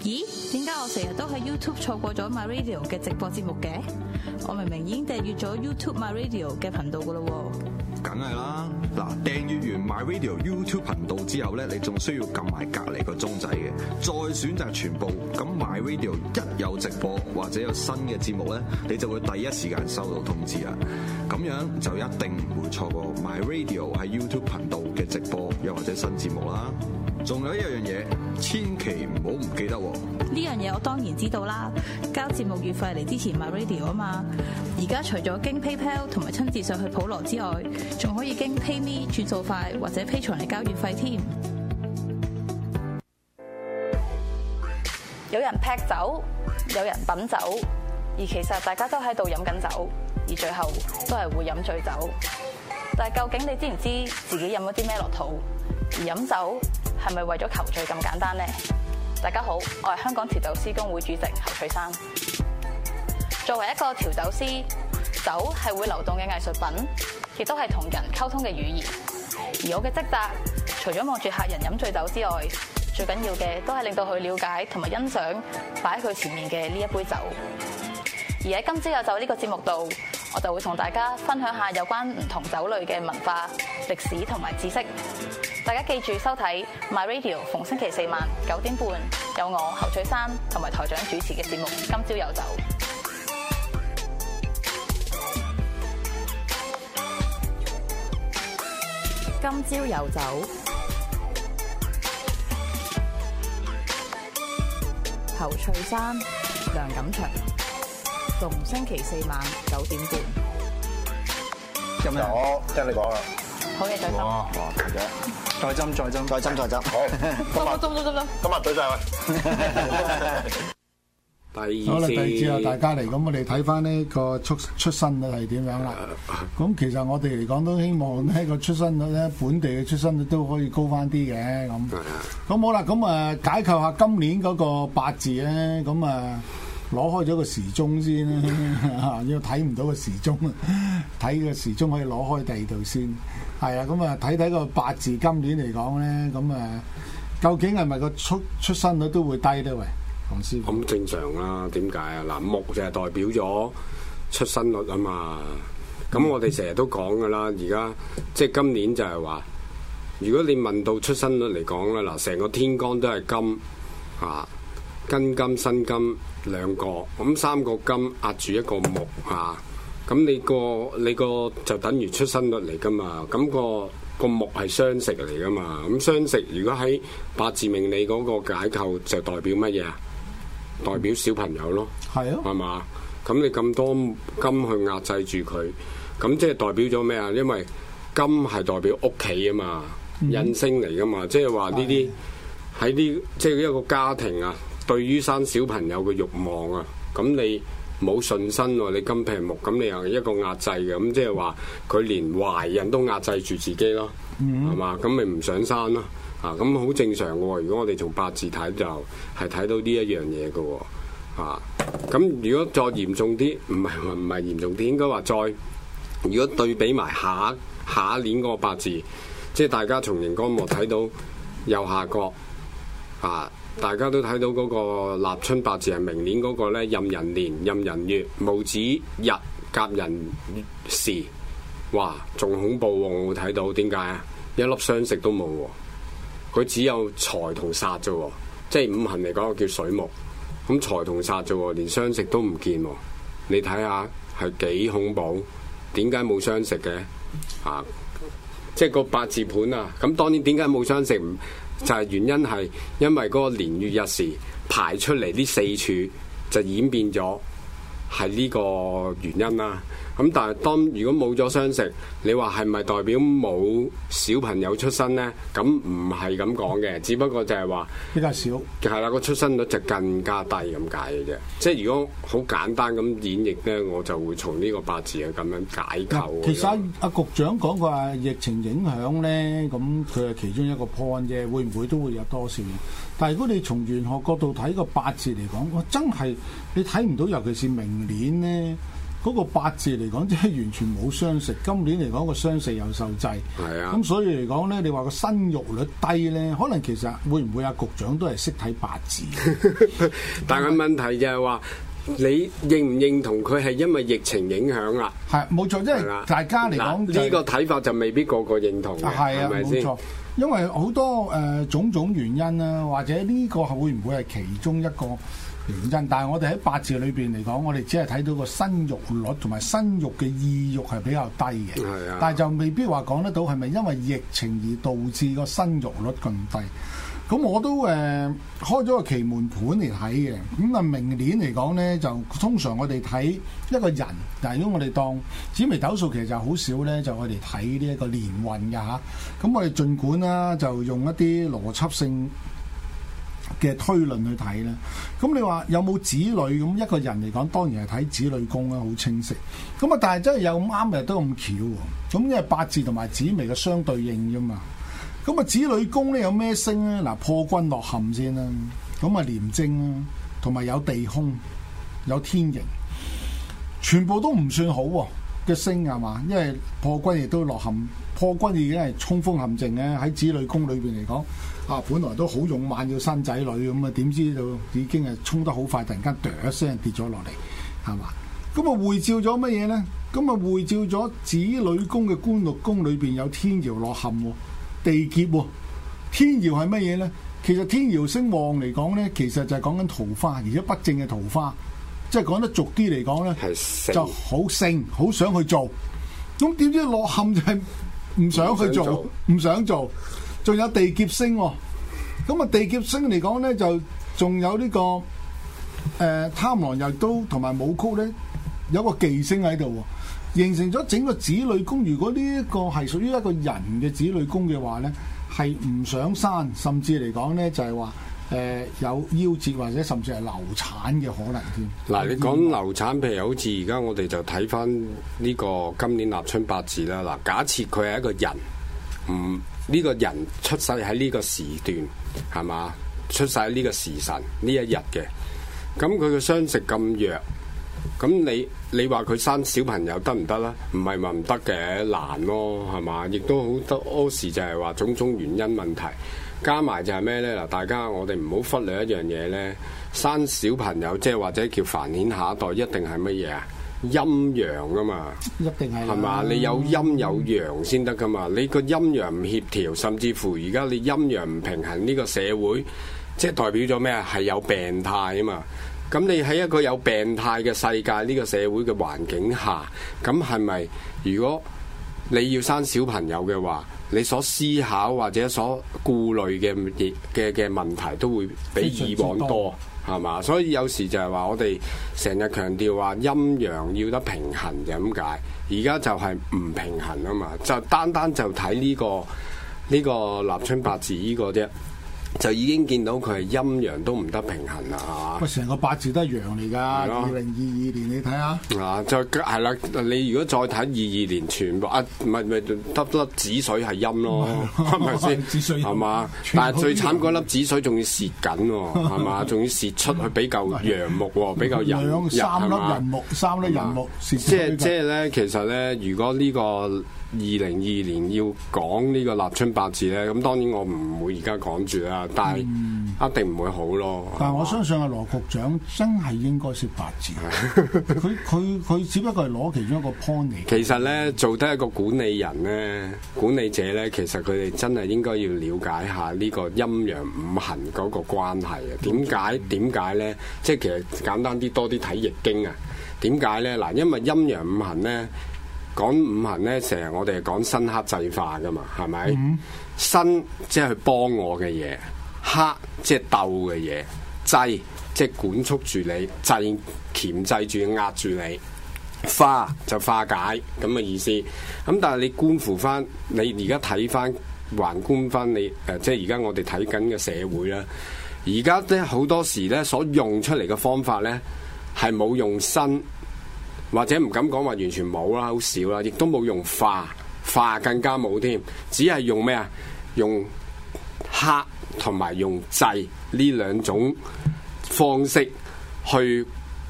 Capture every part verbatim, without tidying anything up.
咦？點解我成日都喺 YouTube 錯過咗 My Radio 嘅直播節目嘅？我明明已經訂閱咗 YouTube My Radio 嘅頻道噶啦喎。 梗係啦，嗱，訂閱完 My Radio YouTube 頻道之後咧，你仲需要撳埋隔離個鐘仔嘅，再選擇全部。咁 My Radio 一有直播或者有新嘅節目咧，你就會第一時間收到通知啊！咁樣就一定唔會錯過 My Radio 喺 YouTube 頻道嘅直播又或者新節目啦。仲有一樣嘢，千祈唔好唔記得喎！ 呢樣嘢我當然知道啦，交節目月費嚟支持 My Radio 啊嘛。而家除咗經 PayPal 同埋親自上去普羅之外，仲可以經 PayMe 轉數快或者 Patreon嚟交月費添。有人劈酒，有人品酒，而其實大家都喺度飲緊酒，而最後都係會飲醉酒。但係究竟你知唔知自己飲咗啲咩落肚？而飲酒係咪為咗求醉咁簡單呢？大家好，我係香港調酒師公會主席侯翠珊。作為一個調酒師，酒係會流動嘅藝術品，亦都係同人溝通嘅語言。而我嘅職責，除咗望住客人飲醉酒之外，最緊要嘅都係令到佢了解同埋欣賞擺喺佢前面嘅呢一杯酒。而喺今朝有酒呢個節目度，我就會同大家分享下有關唔同酒類嘅文化、歷史同埋知識。大家記住收睇 My Radio， 逢星期四晚九點半有我侯翠珊同埋台長主持嘅節目《今朝有酒》。今朝有酒，侯翠珊、梁錦祥，逢星期四晚九點半。 咁就我聽你講啦。 好嘢，再斟。 哇！再斟，再斟，再斟，再斟。好， 今日斟斟斟斟。 今日對晒佢。 第二好啦，第二節啊，大家嚟，咁我哋睇翻呢個出出生率係點樣啦？咁其實我哋嚟講都希望呢個出生率咧，本地嘅出生率都可以高翻啲嘅咁。咁好啦，咁啊解構下今年嗰個八字咧，咁啊攞開咗個時鐘先啦，因為睇唔到個時鐘啊，睇個時鐘可以攞開第二度先。係啊，咁啊睇睇個八字今年嚟講咧，咁啊究竟係咪個出出生率都會低咧？喂？ 咁正常啦，點解啊？嗱，木就係代表咗出生率啊嘛。咁我哋成日都講噶啦，而家即係今年就係話，如果你問到出生率嚟講啦，嗱，成個天干都係金啊，庚金、辛金兩個，咁三個金壓住一個木啊，咁你個你個就等於出生率嚟噶嘛，咁個。個木係雙食嚟噶嘛，咁雙食如果喺八字命理嗰個解構就代表乜嘢啊？代表小朋友咯， 係啊， 係嘛？咁你咁多金去壓制住佢，咁即係代表咗咩啊？因為金係代表屋企啊嘛，印、嗯、星嚟噶嘛，即係話呢啲喺呢即係一個家庭啊，對於生小朋友嘅慾望啊，咁你。冇順身喎，你金平木，咁你又一個壓制嘅，咁即係話佢連懷孕都壓制住自己咯，係嘛、嗯？咁咪唔想生咯，啊，咁好正常嘅喎。如果我哋從八字睇就係睇到呢一樣嘢嘅喎，啊，咁如果再嚴重啲，唔係唔係嚴重啲，應該話再如果對比埋下下一年嗰個八字，即係大家從螢光幕睇到右下角，啊。大家都睇到嗰個立春八字係明年嗰個咧，壬寅年、壬寅月、戊子日、甲寅時，哇，仲恐怖喎！我睇到點解啊？一粒雙食都冇喎，佢只有財同煞啫喎，即係五行嚟講叫水木，咁財同煞啫喎，連雙食都唔見喎。你睇下係幾恐怖？點解冇雙食嘅？啊，即係個八字盤啊！咁當然點解冇雙食？就係原因係因為嗰個年月日時排出嚟呢四柱就演變咗係呢個原因啦。咁但係當如果冇咗雙食，你話係咪代表冇小朋友出生呢？咁唔係咁講嘅，只不過就係話比較少， 係啦，個出生率就更加低咁解嘅啫。即係如果好簡單咁演繹呢，我就會從呢個八字去咁樣解構。 其實阿、啊、局長講過話疫情影響呢，咁佢係其中一個 point 啫，會唔會都會有多少？但係如果你從玄學角度睇個八字嚟講，我真係你睇唔到，尤其是明年呢。 嗰個八字嚟講，即係完全冇傷食。今年嚟講個傷食又受制， 係啊。 咁所以嚟講咧，你話個生育率低咧，可能其實會唔會阿局長都係識睇八字？ 但係問題就係話，你認唔認同佢係因為疫情影響啦？ 係冇錯，即係大家嚟講呢個睇法就未必個個認同嘅， 係啊， 係咪先？ 冇錯，因為好多誒、呃、種種原因啦，或者呢個係會唔會係其中一個原因？但係我哋喺八字裏邊嚟講，我哋只係睇到個生育率同埋生育嘅意欲係比較低嘅， 係啊， 但係就未必話講得到係咪因為疫情而導致個生育率咁低。咁我都誒、呃、開咗個奇門盤嚟睇嘅，咁啊明年嚟講咧，就通常我哋睇一個人，但係如果我哋當紫微斗數其實就好少咧，就我哋睇呢一個年運嘅嚇。咁我哋儘管啦，就用一啲邏輯性嘅推論去睇啦。咁你話有冇子女？咁一個人嚟講，當然係睇子女宮啦，好清晰。咁啊，但係真係有咁啱嘅都咁巧喎。咁因為八字同埋紫微嘅相對應啫嘛。咁啊，子女宮咧有咩星咧？嗱，破軍落陷先啦。咁啊，廉貞啦，同埋有地空，有天刑，全部都唔算好喎嘅星係嘛？因為破軍亦都落陷，破軍已經係衝鋒陷陣咧。喺子女宮裏邊嚟講，啊，本來都好勇猛要生仔女咁啊，點知道已經係衝得好快，突然間哚一聲跌咗落嚟，係嘛？咁啊，匯照咗乜嘢咧？咁啊，匯照咗子女宮嘅官祿宮裏邊有天姚落陷喎。地劫喎，天姚係乜嘢咧？其實天姚星旺嚟講咧，其實就係講緊桃花，而且不正嘅桃花，即係講得俗啲嚟講咧，就好盛，好想去做。咁點知落陷就係唔想去做，唔想做。仲有地劫星喎，咁啊地劫星嚟講咧，就仲有呢、這個誒、呃、貪狼又都同埋武曲咧，有個忌星喺度喎。形成咗整個子女宮，如果呢一個係屬於一個人嘅子女宮嘅話咧，係唔想生，甚至嚟講咧就係話誒有夭折或者甚至係流產嘅可能添。 嗱，你講流產，譬如好似而家我哋就睇翻呢個今年立春八字啦。嗱，假設佢係一個人，唔、嗯、呢、這個人出世喺呢個時段，係嘛？出世喺呢個時辰呢一日嘅，咁佢嘅傷食咁弱。咁你你話佢生小朋友得唔得啦？唔係話唔得嘅，難咯，係嘛？亦都好多時就係話種種原因問題，加埋就係咩呢？嗱，大家我哋唔好忽略一樣嘢呢：生小朋友即係或者叫繁衍下一代，一定係乜嘢啊？陰陽噶嘛， 一定係係嘛？你有陰有陽先得噶嘛？你個陰陽唔協調，甚至乎而家你陰陽唔平衡，呢個社會即係代表咗咩啊？係有病態啊嘛！咁你喺一個有病態嘅世界，呢個社會嘅環境下，咁係咪如果你要生小朋友嘅話，你所思考或者所顧慮嘅嘅嘅問題都會比以往多，係嘛？所以有時就係話我哋成日強調話陰陽要得平衡就咁解，而家就係唔平衡啊嘛，就單單就睇呢個呢個立春八字呢個啫。就已經見到佢係陰陽都唔得平衡啦，係嘛？ 喂，成個八字都係陽嚟㗎。二零二二年你睇下。 啊，再係啦，你如果再睇二二年全部啊，唔係唔係得粒子水係陰咯，係咪先？ 子水係嘛？但係最慘嗰粒子水仲要蝕緊喎，係嘛？仲要蝕出去比較陽木喎，比較人兩三粒人木，三粒人木蝕。 即係即係咧，其實咧，如果呢個二零二二年要講呢個立春八字咧，咁當然我唔會而家講住啦，但係一定唔會好咯。 嗯、但係我相信阿羅局長真係應該識八字，佢佢佢只不過係攞其中一個 point 嚟。 其實咧，做得一個管理人咧，管理者咧，其實佢哋真係應該要了解下呢個陰陽五行嗰個關係啊。點解點解咧？即係其實簡單啲，多啲睇易經啊。點解咧？嗱，因為陰陽五行咧。講五行咧，成日我哋係講生克制化噶嘛，係咪？嗯、生即係去幫我嘅嘢，克即係鬥嘅嘢，制即係管束住你，制鉗制住壓住你，化就化解咁嘅意思。咁但係你觀乎翻，你而家睇翻橫觀翻你誒、呃，即係而家我哋睇緊嘅社會啦。而家咧好多時咧所用出嚟嘅方法咧，係冇用生。或者唔敢講話完全冇啦，好少啦，亦都冇用化，化更加冇添，只係用咩啊？用克同埋用制呢兩種方式去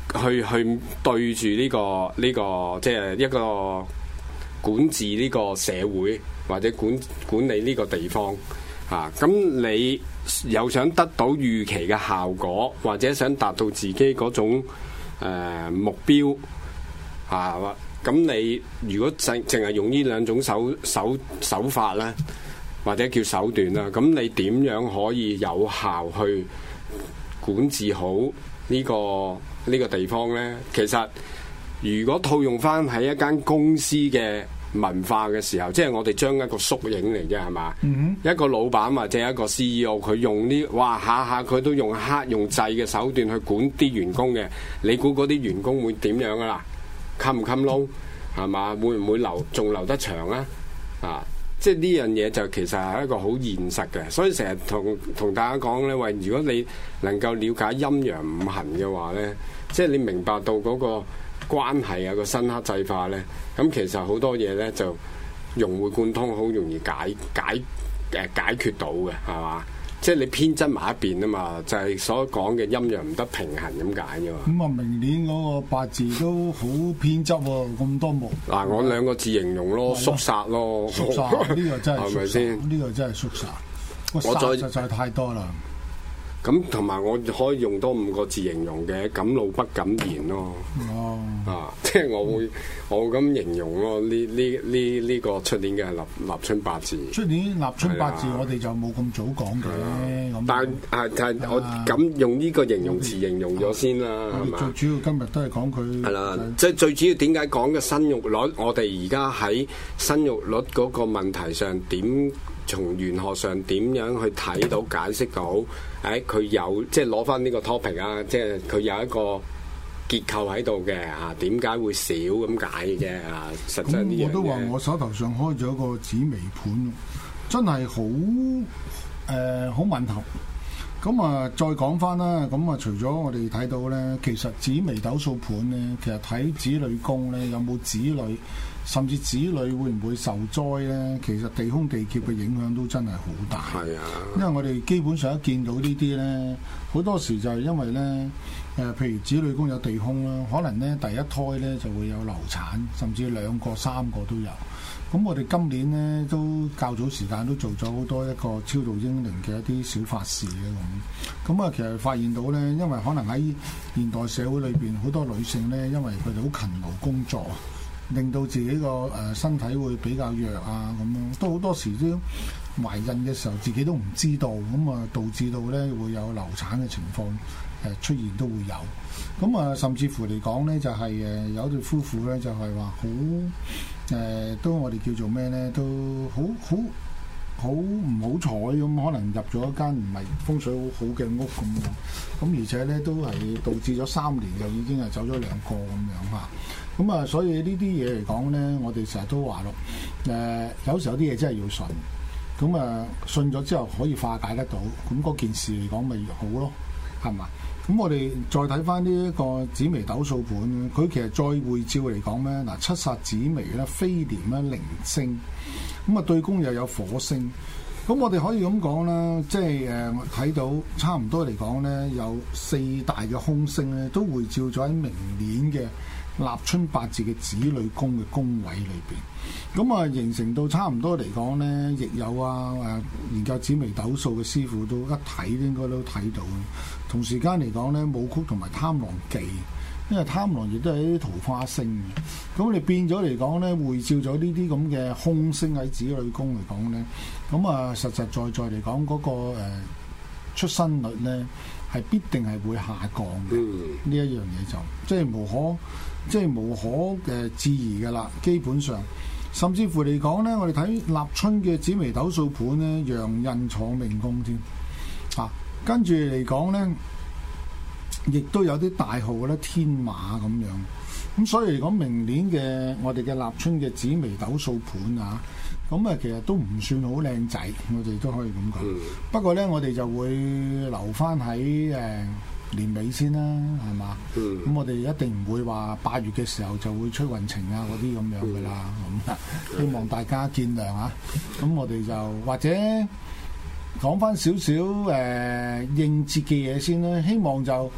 去去對住呢、這個呢、這個即係一個管治呢個社會或者管管理呢個地方啊。咁你又想得到預期嘅效果，或者想達到自己嗰種、呃、目標啊？咁你如果淨淨係用呢兩種手手手法咧，或者叫手段啦，咁你點樣可以有效去管治好呢個呢個地方呢？其實如果套用翻喺一間公司嘅文化嘅時候，即係我哋將一個縮影嚟嘅係嘛？嗯、一個老闆或者一個 C E O， 佢用呢，哇下下佢都用黑用制嘅手段去管啲員工嘅，你估嗰啲員工會點樣噶啦？冚唔冚窿係嘛？會唔會留仲留得長啊？啊！即係呢樣嘢就其實係一個好現實嘅，所以成日同同大家講咧，喂，如果你能夠了解陰陽五行嘅話咧，即係你明白到嗰個關係啊，個生剋制化咧，咁其實好多嘢咧就融會貫通，好容易解解誒解，解決到嘅，係嘛？即係你偏執埋一邊啊嘛，就係、是、所講嘅陰陽唔得平衡咁解啫嘛。咁啊， 明年嗰個八字都好偏執喎，咁多木。 嗱，我兩個字形容咯，肅殺咯。 肅殺呢個真係， 係咪先？ 呢個真係肅殺。我再實在太多啦。 咁同埋我可以用多五個字形容嘅，敢怒不敢言咯。哦，啊，即係我會我咁形容咯。呢呢呢呢個出年嘅立立春八字。出年立春八字我哋就冇咁早講嘅。咁但係啊，但係我咁用呢個形容詞形容咗先啦，係嘛？ 最主要今日都係講佢。係啦， 即係最主要點解講嘅生育率？我哋而家喺生育率嗰個問題上點？從玄學上點樣去睇到解釋到？誒、哎，佢有即係攞翻呢個 topic 啊，即係佢有一個結構喺度嘅啊，點解會少咁解嘅啫啊？實際呢樣嘢我都話我手頭上開咗個紫微盤，真係好誒好吻合。咁啊，再講翻啦。咁啊，除咗我哋睇到咧，其實紫微斗數盤咧，其實睇子女宮咧，有冇子女？甚至子女會唔會受災呢？其實地空地劫嘅影響都真係好大。係啊，因為我哋基本上一見到呢啲呢，好多時就係因為呢，誒、呃，譬如子女宮有地空啦，可能呢第一胎呢就會有流產，甚至兩個、三個都有。咁我哋今年呢都較早時間都做咗好多一個超度英靈嘅一啲小法事嘅咁。咁啊，其實發現到呢，因為可能喺現代社會裏邊好多女性呢，因為佢哋好勤勞工作。令到自己個誒身體會比較弱啊，咁樣都好多時都懷孕嘅時候自己都唔知道，咁啊導致到咧會有流產嘅情況誒出現都會有。咁啊甚至乎嚟講咧就係誒有對夫婦咧就係話好誒都我哋叫做咩咧都好好好唔好彩咁，可能入咗一間唔係風水好好嘅屋咁樣，咁而且咧都係導致咗三年就已經係走咗兩個咁樣嚇。咁啊，所以呢啲嘢嚟講咧，我哋成日都話咯，誒、呃、有時候啲嘢真係要信，咁啊信咗之後可以化解得到，咁嗰件事嚟講咪越好咯，係嘛？咁我哋再睇翻呢一個紫微斗數盤，佢其實再會照嚟講咧，嗱七煞紫微咧，飛廉咧，零星，咁啊對宮又有火星，咁我哋可以咁講啦，即係誒睇到差唔多嚟講咧，有四大嘅空星咧，都會照咗喺明年嘅立春八字嘅子女宮嘅宮位裏邊，咁啊形成到差唔多嚟講呢，亦有啊誒研究紫微斗數嘅師傅都一睇應該都睇到。同時間嚟講呢，武曲同埋貪狼忌，因為貪狼亦都係一啲桃花星嘅，咁你變咗嚟講呢，會照咗呢啲咁嘅空星喺子女宮嚟講呢，咁啊實實在在嚟講嗰個誒出生率呢，係必定係會下降嘅。呢、嗯、一樣嘢就即係無可。即係無可誒置疑嘅啦，基本上，甚至乎嚟講咧，我哋睇立春嘅紫微斗數盤咧，陽刃坐命宮添，啊，跟住嚟講咧，亦都有啲大號咧天馬咁樣，咁所以嚟講，明年嘅我哋嘅立春嘅紫微斗數盤啊，咁啊其實都唔算好靚仔，我哋都可以咁講。嗯、不過咧，我哋就會留翻喺誒。呃年尾先啦，係嘛？咁、嗯、我哋一定唔會話八月嘅時候就會出運程啊嗰啲咁樣噶啦。咁、嗯、希望大家見諒啊。咁我哋就或者講翻少少誒應節嘅嘢先啦。希望就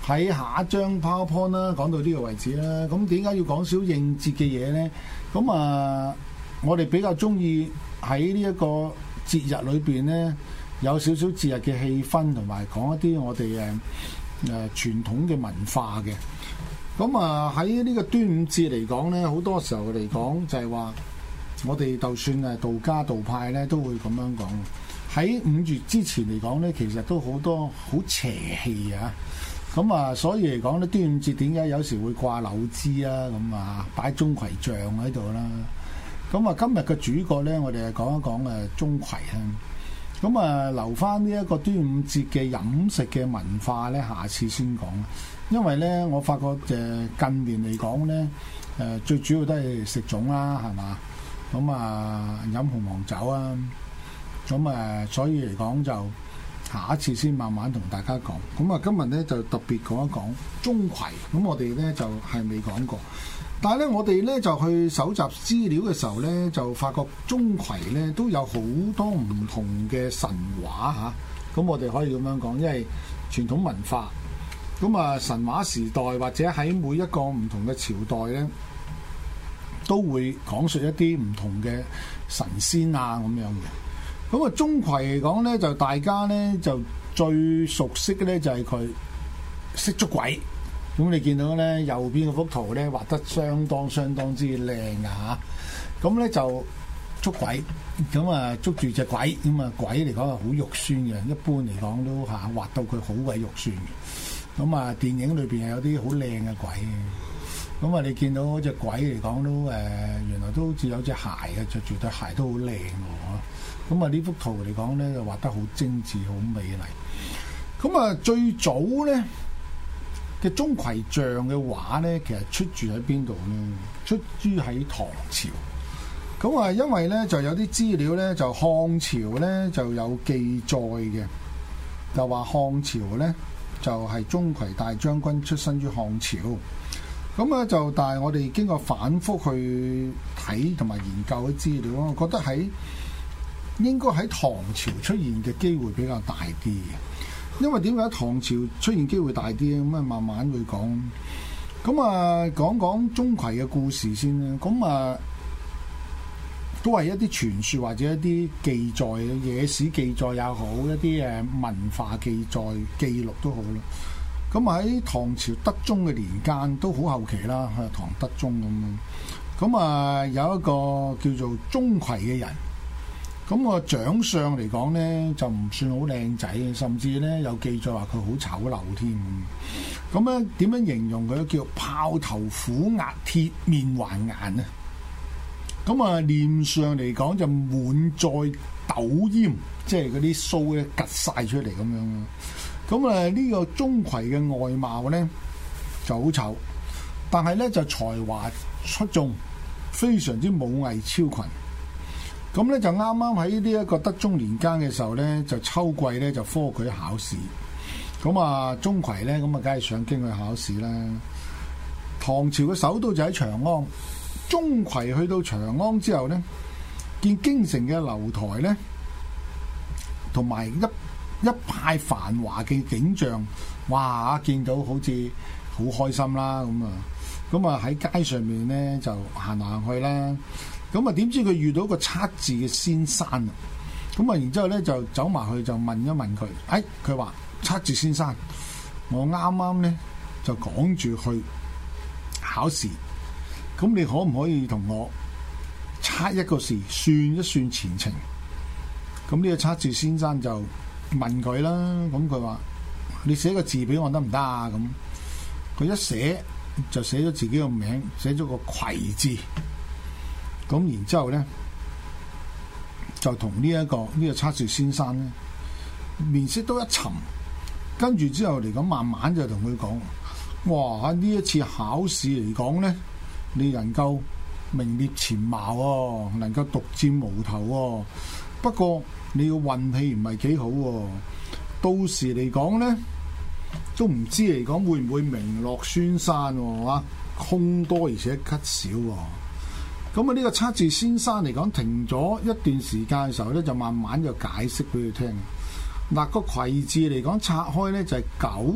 喺下一張 PowerPoint 啦，講到呢個位置啦。咁點解要講少應節嘅嘢咧？咁啊，我哋比較中意喺呢一個節日裏邊咧，有少少節日嘅氣氛，同埋講一啲我哋誒誒傳統嘅文化嘅。咁啊喺呢個端午節嚟講咧，好多時候嚟講就係話，我哋就算係道家道派咧，都會咁樣講。喺五月之前嚟講咧，其實都好多好邪氣啊！咁啊，所以嚟講咧，端午節點解有時會掛柳枝啊？咁啊，擺鐘馗像喺度啦。咁啊，今日嘅主角咧，我哋係講一講誒鐘馗啊。咁啊，留翻呢一個端午節嘅飲食嘅文化咧，下次先講。因為咧，我發覺誒近年嚟講咧，誒最主要都係食粽啦，係嘛？咁啊，飲紅黃酒啊，咁啊，所以嚟講就下一次先慢慢同大家講。咁啊，今日咧就特別講一講鐘馗。咁我哋咧就係未講過，但係咧我哋咧就去搜集資料嘅時候咧，就發覺鐘馗咧都有好多唔同嘅神話嚇。咁我哋可以咁樣講，因為傳統文化。咁啊，神話時代或者喺每一個唔同嘅朝代咧，都會講述一啲唔同嘅神仙啊咁樣嘅。咁啊，鐘馗嚟講咧，就大家咧就最熟悉嘅咧就係佢識捉鬼。咁你見到咧右邊嗰幅圖咧畫得相當相當之靚啊嚇。咁咧就捉鬼，咁啊捉住隻鬼，咁啊鬼嚟講係好肉酸嘅，一般嚟講都嚇畫到佢好鬼肉酸嘅。咁啊，電影裏邊係有啲好靚嘅鬼嘅。咁啊，你見到嗰隻鬼嚟講都誒、呃，原來都好似有隻鞋嘅，着住對鞋都好靚喎。咁啊，呢幅圖嚟講咧，就畫得好精緻、好美麗。咁啊，最早咧嘅鐘馗像嘅畫咧，其實出住喺邊度咧？出於喺唐朝。咁啊，因為咧就有啲資料咧，就漢朝咧就有記載嘅，就話漢朝咧。就係鐘馗大將軍出身於漢朝，咁啊就但係我哋經過反覆去睇同埋研究嘅資料，我覺得喺應該喺唐朝出現嘅機會比較大啲嘅。因為點解唐朝出現機會大啲咧？咁啊慢慢會講。咁啊講講鐘馗嘅故事先啦。咁啊都係一啲傳說或者一啲記載嘅野史記載也好，一啲誒文化記載記錄都好啦。咁喺唐朝德宗嘅年間都好後期啦，係唐德宗咁樣。咁啊有一個叫做鐘馗嘅人，咁個長相嚟講咧就唔算好靚仔嘅，甚至咧有記載話佢好醜陋添。咁咧點樣形容佢？叫豹頭虎額鐵面環顏啊！咁啊，臉上嚟講就滿載斗煙，即係嗰啲鬚咧趌晒出嚟咁樣。咁啊，呢個鐘馗嘅外貌咧就好醜，但係咧就才華出眾，非常之武藝超群。咁咧就啱啱喺呢一個德宗年間嘅時候咧，就秋季咧就科舉考試。咁啊，鐘馗咧咁啊，梗係上京去考試啦。唐朝嘅首都就喺長安。鐘馗去到長安之後咧，見京城嘅樓台咧，同埋一一派繁華嘅景象，哇！見到好似好開心啦咁啊，咁啊喺街上面咧就行行去啦。咁啊點知佢遇到個測字嘅先生啊，咁啊然之後咧就走埋去就問一問佢，誒佢話測字先生，我啱啱咧就趕住去考試。咁你可唔可以同我測一個時，算一算前程？咁呢個測字先生就問佢啦。咁佢話：你寫個字俾我得唔得啊？咁佢一寫就寫咗自己個名，寫咗個馗字。咁然之後咧，就同呢一個呢、呢個測字先生咧面色都一沉。跟住之後嚟講，慢慢就同佢講：哇！呢一次考試嚟講咧，你能夠名列前茅喎，能夠獨佔鰲頭喎。不過你嘅運氣唔係幾好喎，到時嚟講咧，都唔知嚟講會唔會名落孫山喎，啊，凶多而且吉少喎。咁啊，呢個測字先生嚟講停咗一段時間嘅時候咧，就慢慢就解釋俾佢聽。嗱，個馗字嚟講拆開咧就係九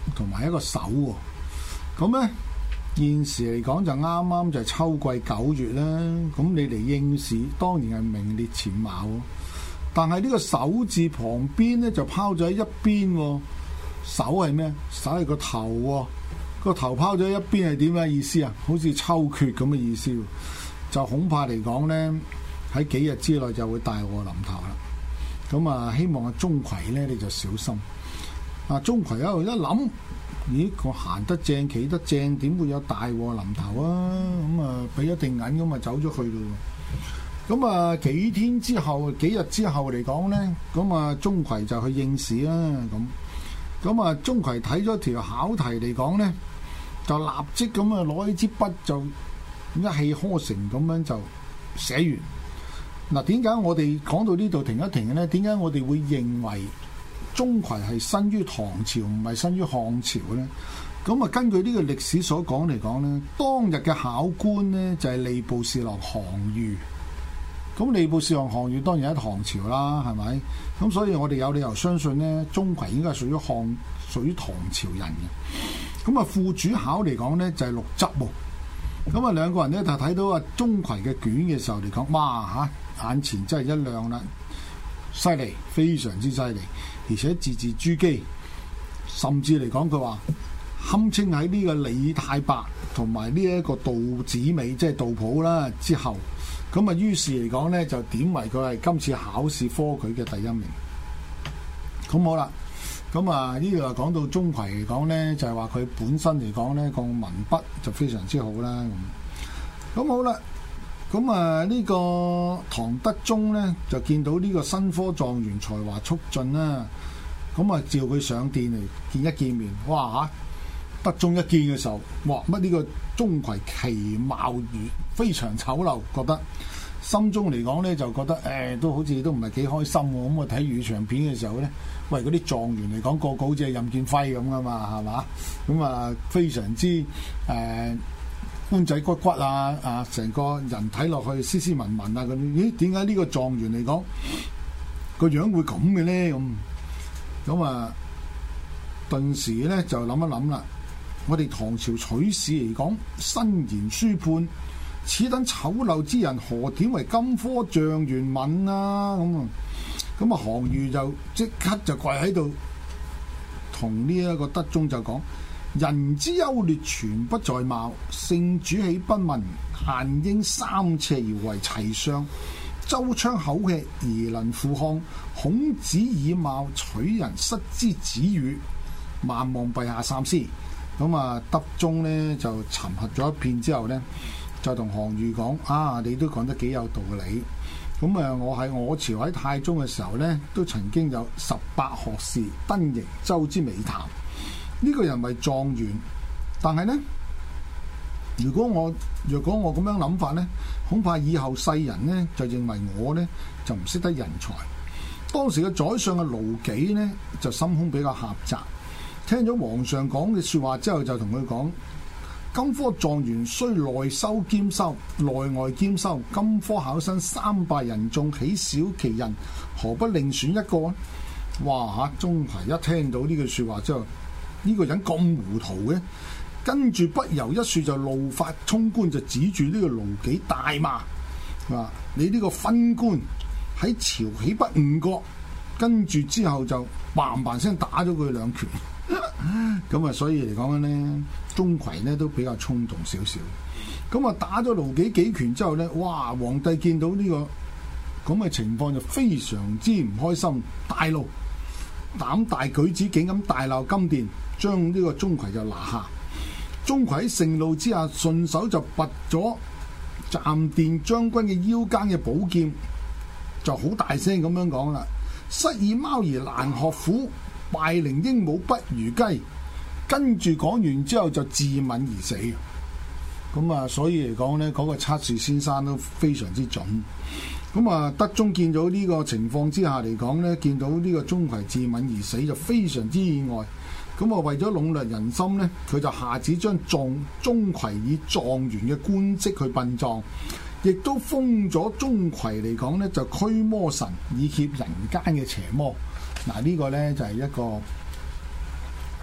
同埋一個守喎。咁咧現時嚟講就啱啱就係秋季九月啦。咁你嚟應試當然係名列前茅喎。但係呢個守字旁邊咧就拋咗喺一邊喎。守係咩？守係個頭喎。個頭拋咗一邊係點嘅意思啊？好似秋決咁嘅意思。就恐怕嚟講咧，喺幾日之內就會大禍臨頭啦。咁啊，希望阿鍾馗咧你就小心。啊，鍾馗一路一諗，咦，我行得正企得正，點會有大禍臨頭啊？咁啊，俾一定銀咁啊，走咗去咯。咁啊，幾天之後，幾日之後嚟講咧，咁啊，鍾馗就去應試啦。咁，咁啊，鍾馗睇咗條考題嚟講咧，就立即咁啊，攞起支筆就一氣呵成咁樣就寫完。嗱，點解我哋講到呢度停一停嘅咧？點解我哋會認為鍾馗係生於唐朝，唔係生於漢朝咧？咁啊，根據呢個歷史所講嚟講咧，當日嘅考官咧就係吏部侍郎韓愈。咁吏部侍郎韓愈當然喺唐朝啦，係咪？咁所以我哋有理由相信咧，鍾馗應該係屬於漢、屬於唐朝人嘅。咁啊，副主考嚟講咧就係陸執喎。咁啊，兩個人咧就睇到啊鍾馗嘅卷嘅時候嚟講，哇嚇，眼前真係一亮啦，犀利，非常之犀利，而且字字珠璣，甚至嚟講佢話堪稱喺呢個李太白同埋呢一個杜子美，即係杜甫啦之後，咁啊於是嚟講咧就點為佢係今次考試科舉嘅第一名。咁好啦。咁啊，呢度又講到鍾馗嚟講咧，就係話佢本身嚟講咧個文筆就非常之好啦。咁，咁好啦，咁啊呢個唐德宗咧就見到呢個新科狀元才華速進啦，咁啊召佢上殿嚟見一見面。哇嚇！德宗一見嘅時候，哇乜呢個鍾馗其貌如非常醜陋，覺得心中嚟講咧就覺得誒、欸、都好似都唔係幾開心喎。咁我睇粵語長片嘅時候咧。喂，嗰啲狀元嚟講，個個好似係任劍輝咁噶嘛，係嘛？咁啊，非常之誒、呃、官仔骨骨啊，啊，成個人睇落去斯斯文文啊，咁咦？點解呢個狀元嚟講個樣會咁嘅咧？咁咁啊，頓時咧就諗一諗啦。我哋唐朝取士嚟講，身言書判，此等醜陋之人，何點為金科狀元問啊？咁啊！咁啊，韓愈就即刻就跪喺度，同呢一個德宗就講：人之優劣全不在貌，聖主豈不聞？閒應三尺而為齊相，周昌口吃而能富漢。孔子以貌取人，失之子羽。萬望陛下三思。咁啊，德宗呢就沉核咗一片之後呢，就同韓愈講：啊，你都講得幾有道理。咁啊！我喺我朝喺太宗嘅時候咧，都曾經有十八學士登瀛州之美談。呢、這個人為狀元，但係咧，如果我若果我咁樣諗法咧，恐怕以後世人咧就認為我咧就唔識得人才。當時嘅宰相嘅盧杞咧就心胸比較狹窄，聽咗皇上講嘅説話之後，就同佢講。金科狀元須內修兼修，內外兼修。金科考生三百人中，豈少其人？何不另選一個？哇嚇！鍾馗一聽到呢句説話之後，呢、這個人咁糊塗嘅，跟住不由一説就怒髮衝冠，就指住呢個盧杞大罵：話你呢個昏官喺朝豈不誤國？跟住之後就嘭嘭聲打咗佢兩拳。咁啊，所以嚟講咧，鍾馗咧都比較衝動少少。咁啊，打咗盧杞幾拳之後咧，哇！皇帝見到呢個咁嘅情況就非常之唔開心，大怒，膽大舉止，竟咁大鬧金殿，將呢個鍾馗就拿下。鍾馗喺盛怒之下，順手就拔咗暫殿將軍嘅腰間嘅寶劍，就好大聲咁樣講啦：失以貓兒難學虎，敗零鸚鵡不如雞。跟住講完之後就自刎而死。咁啊，所以嚟講呢，嗰、那個測試先生都非常之準。咁啊，德宗見到呢個情況之下嚟講呢，見到呢個鍾馗自刎而死就非常之意外。咁啊，為咗籠絡人心呢，佢就下旨將狀鍾馗以狀元嘅官職去殯葬，亦都封咗鍾馗嚟講呢，就驅魔神，以脅人間嘅邪魔。嗱，呢個呢，就係、是、一個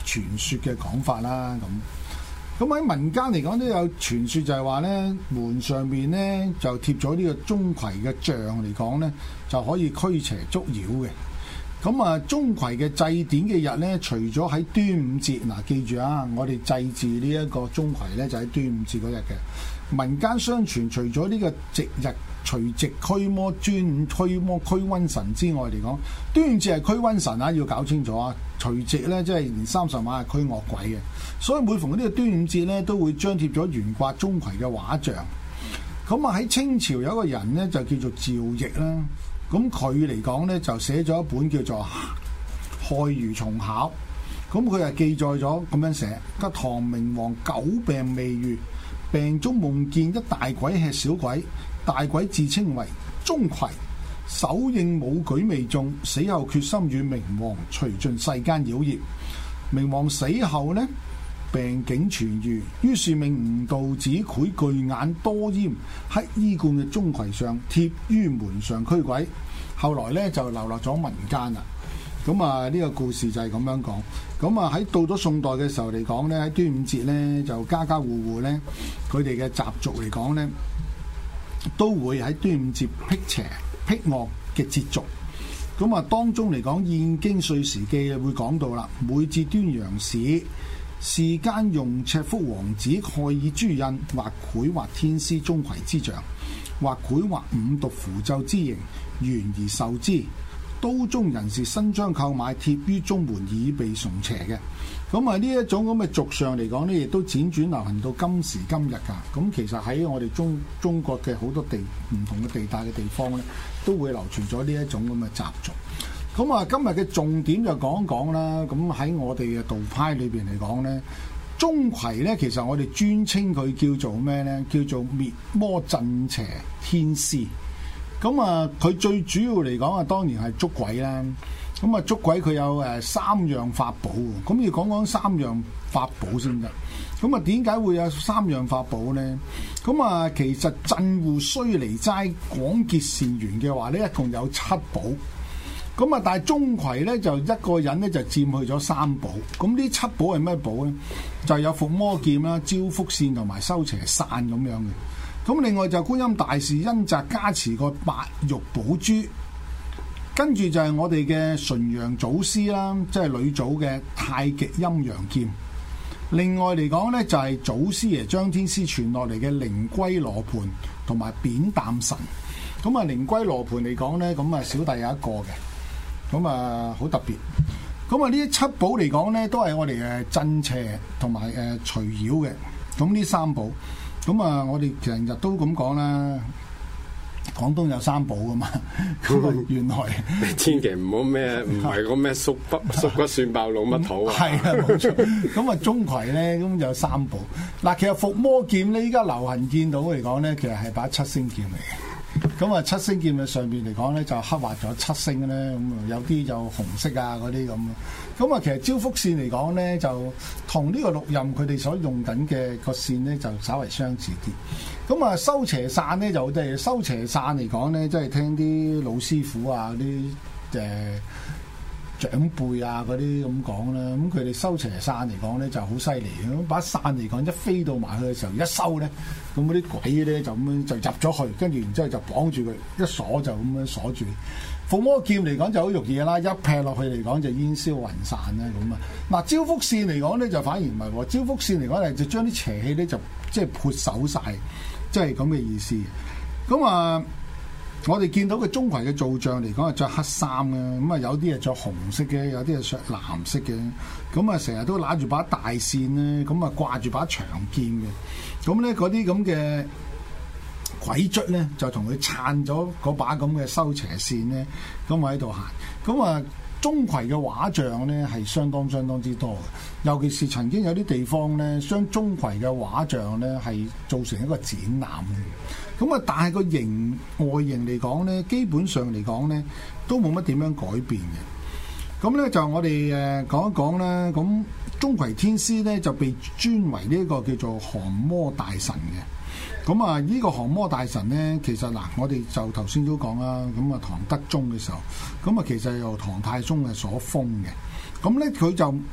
傳說嘅講法啦。咁咁喺民間嚟講都有傳說，就係話咧門上面咧就貼咗呢個鍾馗嘅像嚟講咧，就可以驅邪捉妖嘅。咁啊，鍾馗嘅祭典嘅日咧，除咗喺端午節，嗱記住啊，我哋祭祀呢一個鍾馗咧就喺端午節嗰日嘅。民間相傳，除咗呢個值日除夕驅魔、端午驅魔驅瘟神之外嚟講，端午節係驅瘟神啊，要搞清楚啊。除夕咧即係年三十晚係驅惡鬼嘅，所以每逢呢個端午節咧都會張貼咗懸掛鍾馗嘅畫像。咁啊喺清朝有一個人咧就叫做趙翼啦，咁佢嚟講咧就寫咗一本叫做《害魚蟲考》，咁佢係記載咗咁樣寫：個唐明皇久病未愈，病中夢見一大鬼吃小鬼，大鬼自稱為鍾馗，手應武舉未中，死後決心與明皇除盡世間妖孽。明皇死後呢，病境痊愈，於是命吳道子繪巨眼多閹黑衣冠嘅鍾馗像貼於門上驅鬼。後來呢，就流落咗民間啦。咁啊呢個故事就係咁樣講。咁啊喺到咗宋代嘅時候嚟講呢，喺端午節呢，就家家戶戶呢，佢哋嘅習俗嚟講呢，都會喺端午節辟邪辟惡嘅節俗。咁啊當中嚟講《燕京歲時記》會講到啦，每至端陽市，世間用赤腹王子蓋以朱印，或繪畫天師鍾馗之像，或繪畫五毒符咒之形，懸而受之。都中人士新將購買貼於中門，以備崇邪嘅。咁啊呢一種咁嘅俗相嚟講呢，亦都輾轉流行到今時今日㗎。咁其實喺我哋中中國嘅好多地唔同嘅地帶嘅地方呢，都會流傳咗呢一種咁嘅習俗。咁啊今日嘅重點就講一講啦。咁喺我哋嘅道派裏邊嚟講呢，鍾馗呢，其實我哋專稱佢叫做咩呢？叫做滅魔鎮邪天師。咁啊，佢最主要嚟講啊，當然係捉鬼啦。咁啊，捉鬼佢有誒三樣法寶，咁要講講三樣法寶先得。咁啊，點解會有三樣法寶呢？咁啊，其實鎮護須彌齋廣結善緣嘅話呢，一共有七寶。咁啊，但係鍾馗呢，就一個人呢，就佔去咗三寶。咁呢七寶係咩寶呢？就有伏魔劍啦、招福扇同埋收邪傘咁樣嘅。咁另外就觀音大士恩澤加持個白玉寶珠，跟住就係我哋嘅純陽祖師啦，即係女祖嘅太極陰陽劍。另外嚟講呢，就係祖師爺張天師傳落嚟嘅靈龜羅盤同埋扁擔神。咁啊靈龜羅盤嚟講呢，咁啊小弟有一個嘅，咁啊好特別。咁啊呢七寶嚟講呢，都係我哋誒鎮邪同埋誒除妖嘅。咁呢三寶。咁啊，我哋成日都咁講啦，廣東有三寶噶嘛。咁啊，原來你千祈唔好咩，唔係個咩縮骨縮骨蒜爆老乜土啊。 係啊，冇錯。咁啊，鍾馗咧，咁有三寶。嗱，其實伏魔劍咧，依家流行見到嚟講咧，其實係把七星劍嚟嘅。咁啊，七星劍嘅上邊嚟講咧，就刻畫咗七星咧，咁啊有啲就紅色啊嗰啲咁。咁啊，其實招福線嚟講咧，就同呢個六壬佢哋所用緊嘅個線咧，就稍為相似啲。咁啊，收邪傘咧就即係收邪傘嚟講咧，即係聽啲老師傅啊、啲誒長輩啊嗰啲咁講啦。咁佢哋收邪傘嚟講咧就好犀利。咁把傘嚟講一飛到埋去嘅時候，一收咧，咁嗰啲鬼咧就咁樣就入咗去，跟住然之後就綁住佢，一鎖就咁樣鎖住。伏魔劍嚟講就好容易啦，一劈落去嚟講就煙消雲散啦咁啊。嗱，招福線嚟講咧就反而唔係喎，招福線嚟講係就將啲邪氣咧就即係潑走晒，即係咁嘅意思。咁啊，我哋見到嘅鍾馗嘅造像嚟講係着黑衫嘅，咁啊有啲係着紅色嘅，有啲係着藍色嘅，咁啊成日都揦住把大扇咧，咁啊掛住把長劍嘅，咁咧嗰啲咁嘅鬼卒咧就同佢撐咗嗰把咁嘅收邪線咧，咁我喺度行。咁啊，鍾馗嘅畫像咧係相當相當之多嘅，尤其是曾經有啲地方咧，將鍾馗嘅畫像咧係做成一個展覽嘅。咁啊，但係個形外形嚟講咧，基本上嚟講咧都冇乜點樣改變嘅。咁咧就我哋誒講一講啦。咁鍾馗天師咧就被尊為呢一個叫做降魔大神嘅。咁啊，呢個降魔大神咧，其實嗱，我哋就頭先都講啦。咁啊，唐德宗嘅時候，咁啊，其實由唐太宗係所封嘅。咁咧，佢就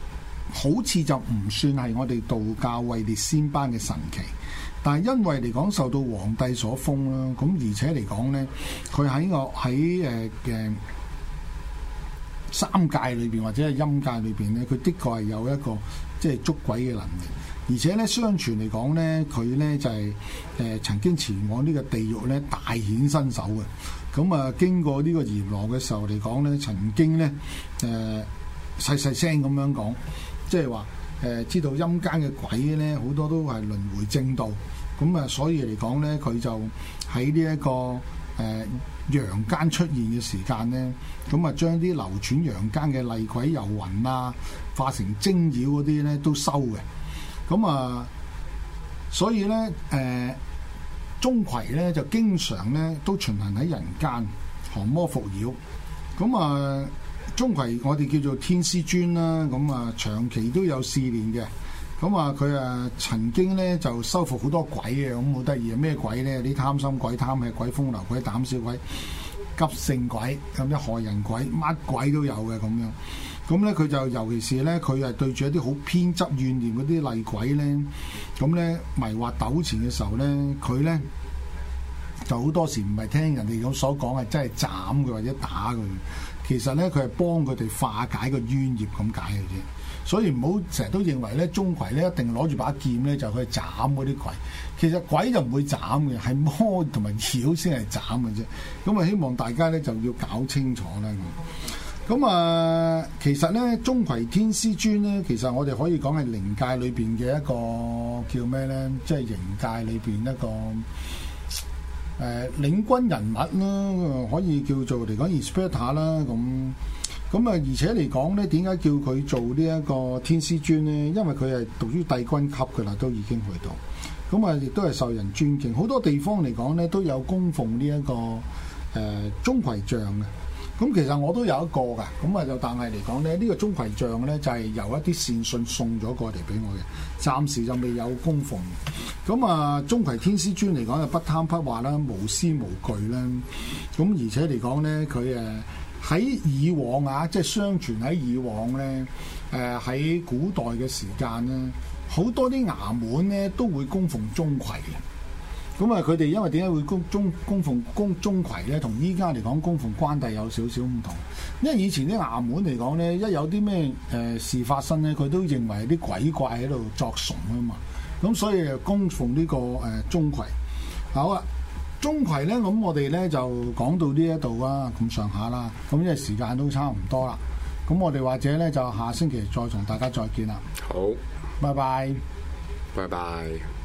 好似就唔算係我哋道教位列仙班嘅神祇，但係因為嚟講受到皇帝所封啦，咁而且嚟講咧，佢喺我喺誒嘅三界裏邊或者係陰界裏邊咧，佢的確係有一個即係捉鬼嘅能力，而且咧相傳嚟講咧，佢咧就係、是、誒、呃、曾經前往呢個地獄咧大顯身手嘅。咁啊，經過呢個閻羅嘅時候嚟講咧，曾經咧誒細細聲咁樣講，即係話誒知道陰間嘅鬼咧好多都係輪迴正道，咁啊所以嚟講咧，佢就喺呢一個誒、呃、陽間出現嘅時間咧，咁啊將啲流轉陽間嘅厲鬼遊魂啊，化成精妖嗰啲咧都收嘅，咁啊所以咧誒。呃鍾馗咧就經常咧都巡行喺人間降魔伏妖，咁啊鍾馗我哋叫做天師尊啦，咁啊長期都有試煉嘅，咁啊佢啊曾經咧就收服好多鬼嘅，咁好得意啊！咩鬼咧？啲貪心鬼、貪吃鬼、風流鬼、膽小鬼、急性鬼，咁啲害人鬼，乜鬼都有嘅咁樣。咁咧佢就尤其是咧，佢係對住一啲好偏執怨念嗰啲厲鬼咧，咁咧迷惑糾纏嘅時候咧，佢咧就好多時唔係聽人哋咁所講係真係斬佢或者打佢，其實咧佢係幫佢哋化解個冤孽咁解嘅啫。所以唔好成日都認為咧鍾馗咧一定攞住把劍咧就去斬嗰啲鬼，其實鬼就唔會斬嘅，係魔同埋妖先係斬嘅啫。咁啊，希望大家咧就要搞清楚啦。咁啊，其實咧，鍾馗天師尊咧，其實我哋可以講係靈界裏邊嘅一個叫咩咧？即係靈界裏邊一個誒、呃、領軍人物啦，可以叫做嚟講 inspector 啦。咁咁啊，而且嚟講咧，點解叫佢做呢一個天師尊咧？因為佢係屬於帝君級嘅啦，都已經去到。咁啊，亦都係受人尊敬。好多地方嚟講咧，都有供奉呢、這、一個誒鍾馗像嘅。咁其實我都有一個㗎，咁啊就但係嚟講咧，呢個鍾馗像咧就係由一啲善信送咗過嚟俾我嘅，暫時就未有供奉。咁啊，鍾馗天師尊嚟講就不貪不惑啦，無私無懼啦。咁而且嚟講咧，佢誒喺以往啊，即係相傳喺以往咧，誒喺古代嘅時間咧，好多啲衙門咧都會供奉鍾馗嘅。咁啊，佢哋因為點解會供中供奉供鍾馗咧？同依家嚟講供奉關帝有少少唔同。因為以前啲衙門嚟講咧，一有啲咩誒事發生咧，佢都認為啲鬼怪喺度作祟啊嘛。咁所以就供奉呢、這個誒鍾馗。好啊，鍾馗咧，咁我哋咧就講到呢一度啊，咁上下啦。咁因為時間都差唔多啦，咁我哋或者咧就下星期再同大家再見啦。 好， 拜拜， 拜拜。